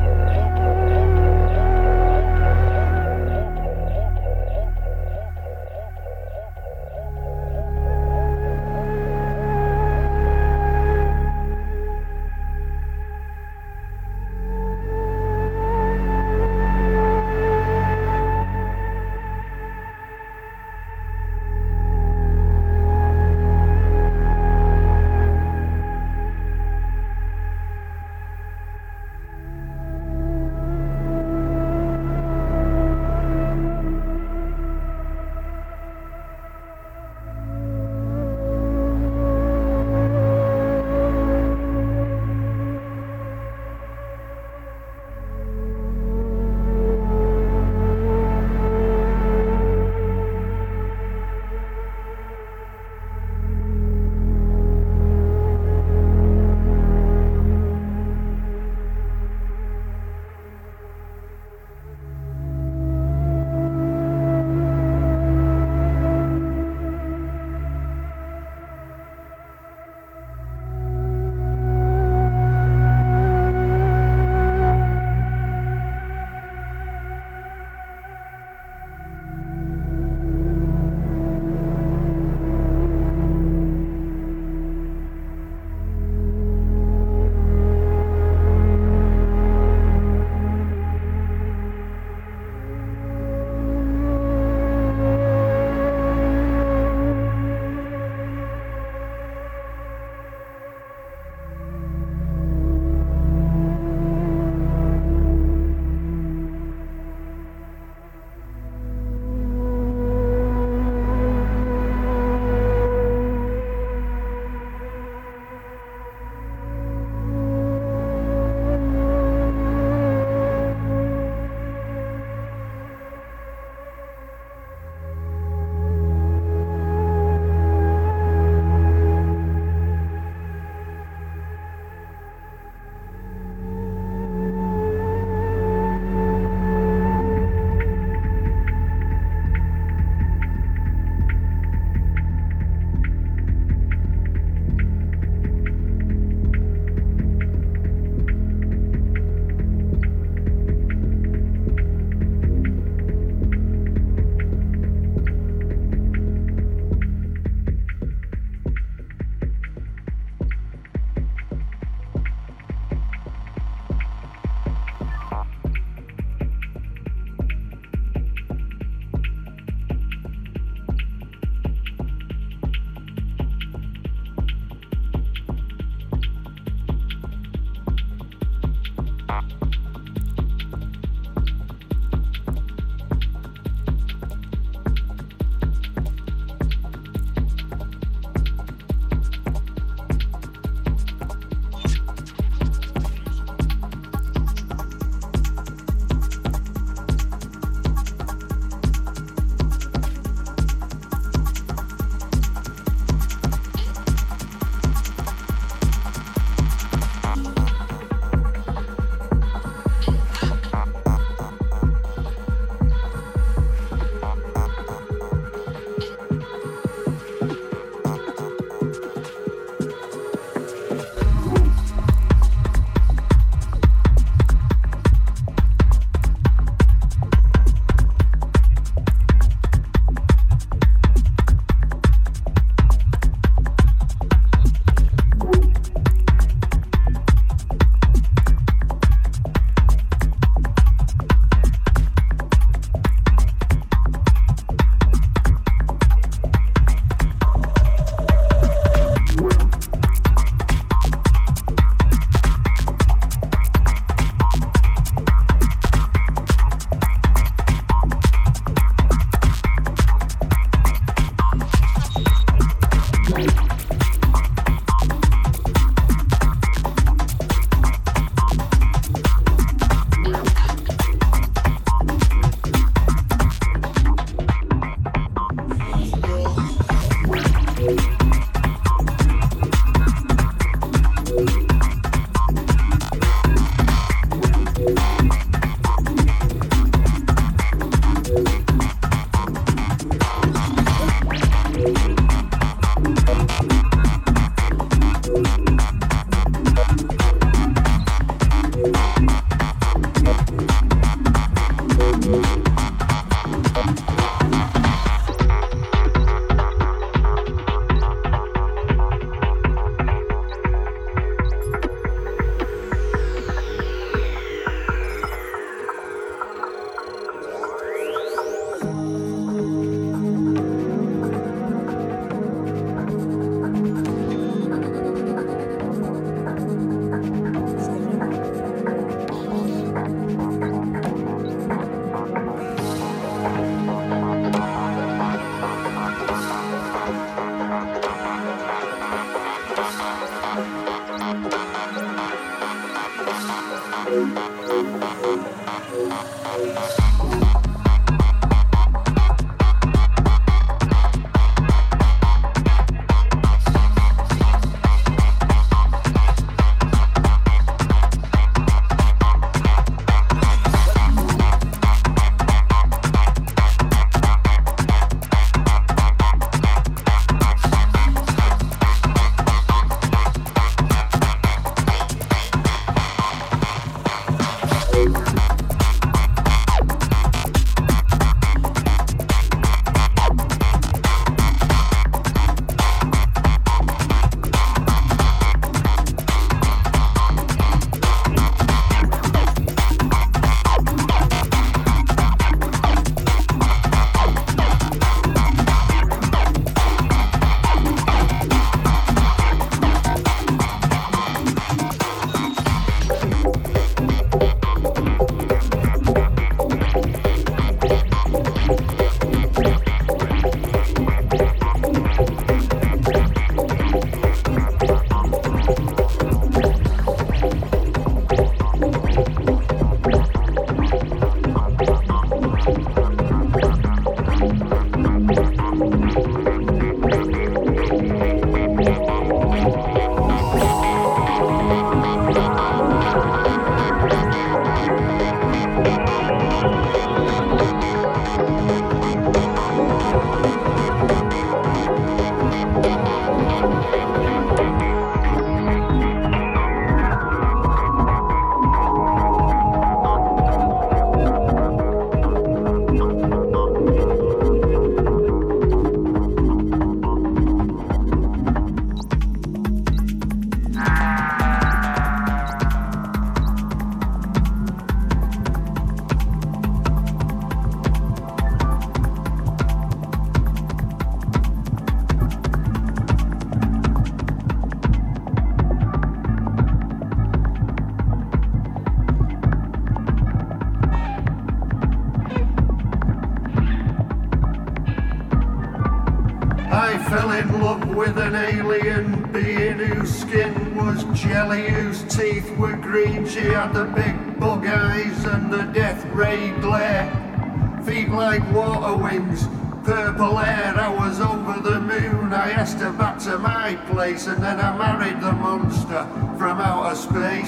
I fell in love with an alien being whose skin was jelly, whose teeth were green. She had the big bug eyes and the death ray glare, feet like water wings, purple hair. I was over the moon. I asked her back to my place, and then I married the monster from outer space.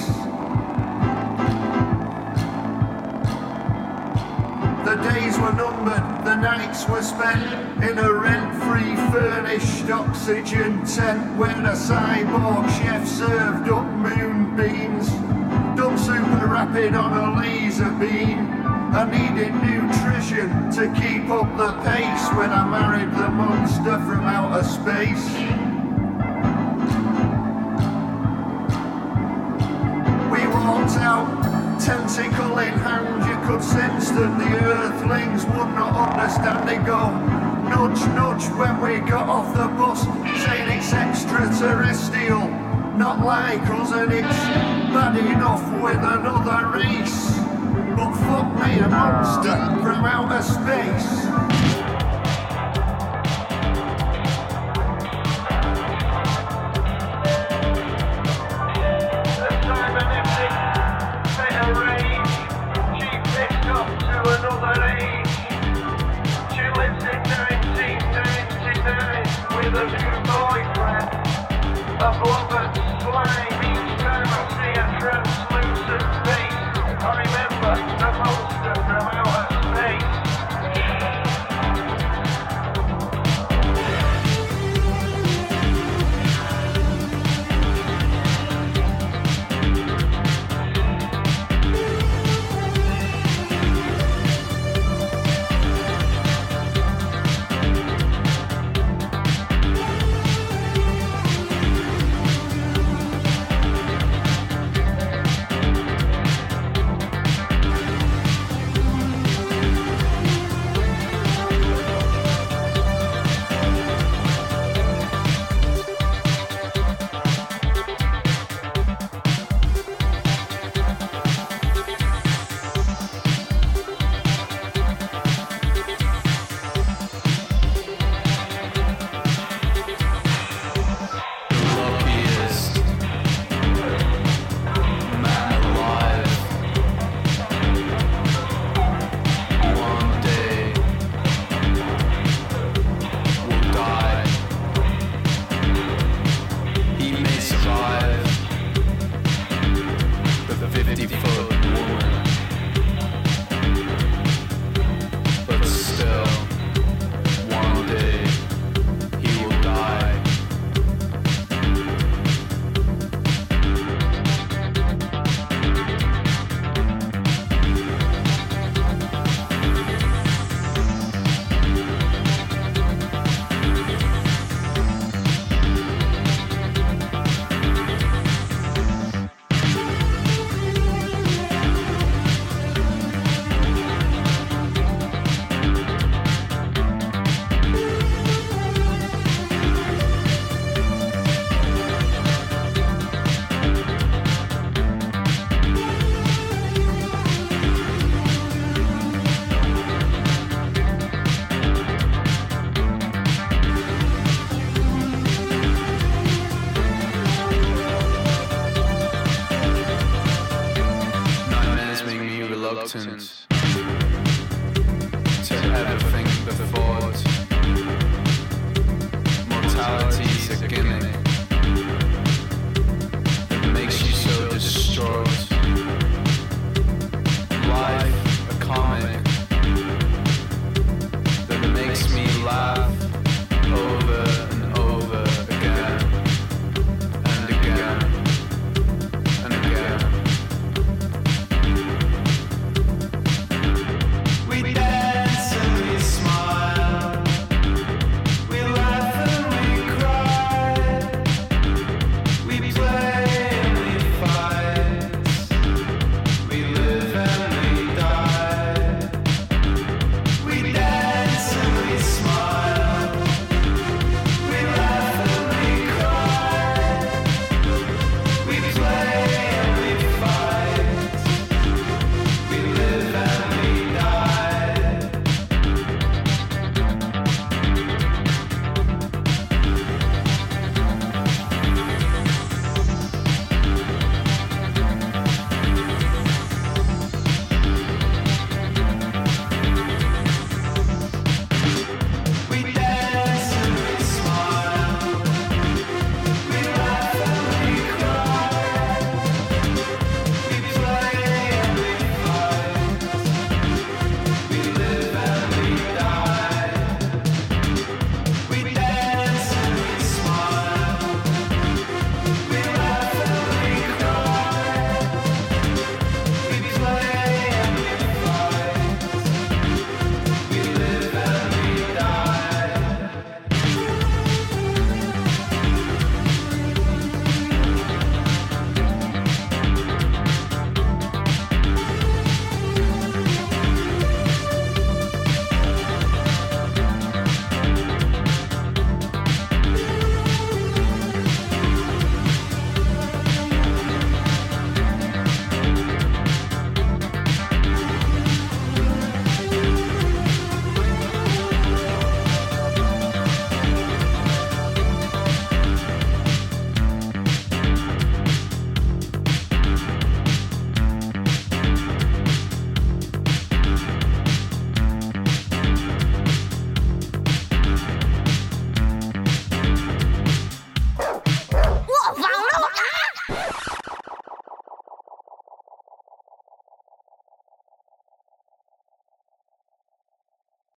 The days were numbered, the nights were spent in a rent-free furnished oxygen tent where a cyborg chef served up moonbeams, done super rapid on a laser beam. I needed nutrition to keep up the pace when I married the monster from outer space. We walked out, tentacle in hand. You could sense that the earthlings would not understand it. Go nudge, nudge when we got off the bus, saying it's extraterrestrial, not like us, and it's bad enough with another race. But fuck me, a monster from outer space. The cybernetic federation, she pissed off to another age. She lives in nineteen ninety-nine with a new boyfriend, a blonde